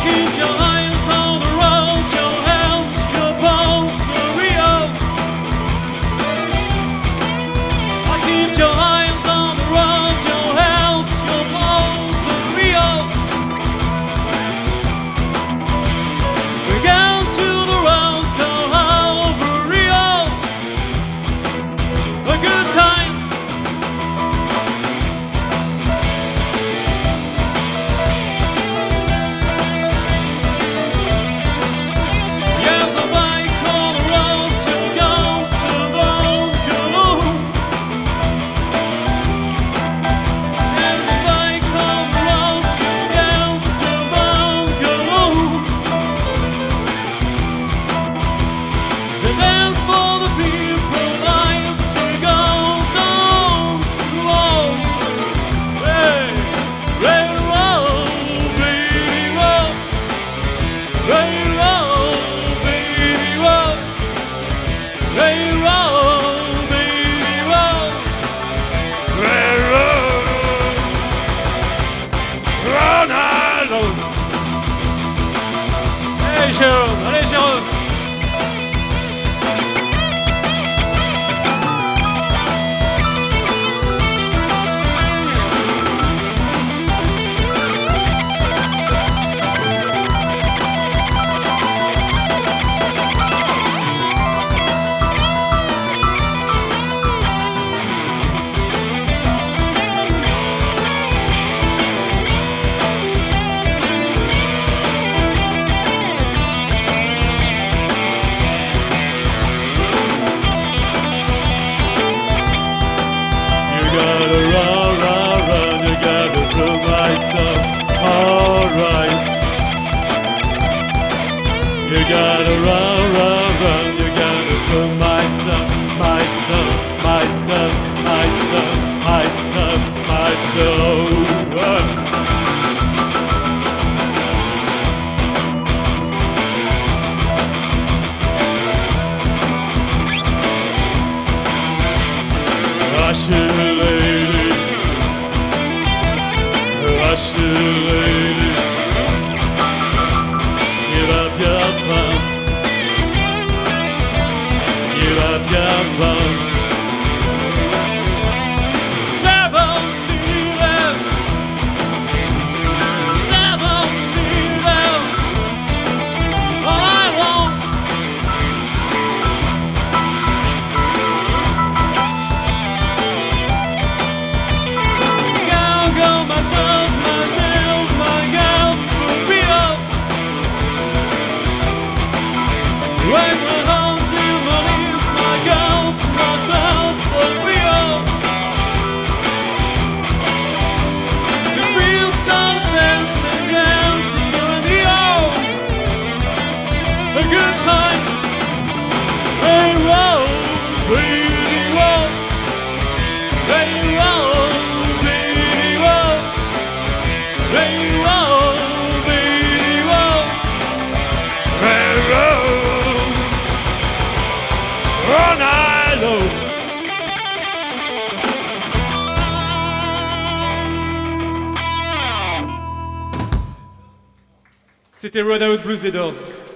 keep your eyes on the road, your hands, your bones for Rio. I keep your eyes on the road, your hands, your bones for Rio. We're going to the road, go over Rio. A good time. Allez Jérôme, allez Jérôme. You gotta run, run, run, you gotta put my son, my son, my son, my son, my son, my soul. Russian lady, Russian lady, give up your thumbs, give up your thumbs. Seven seated, all I want. Go myself, my girl, for real. Right my hands in my knees, my girl, myself, for real. The real sunsets and dancing in the air. A good time. Hey, roll, baby, roll. Hey, roll. C'était Road Out Blues des Doors.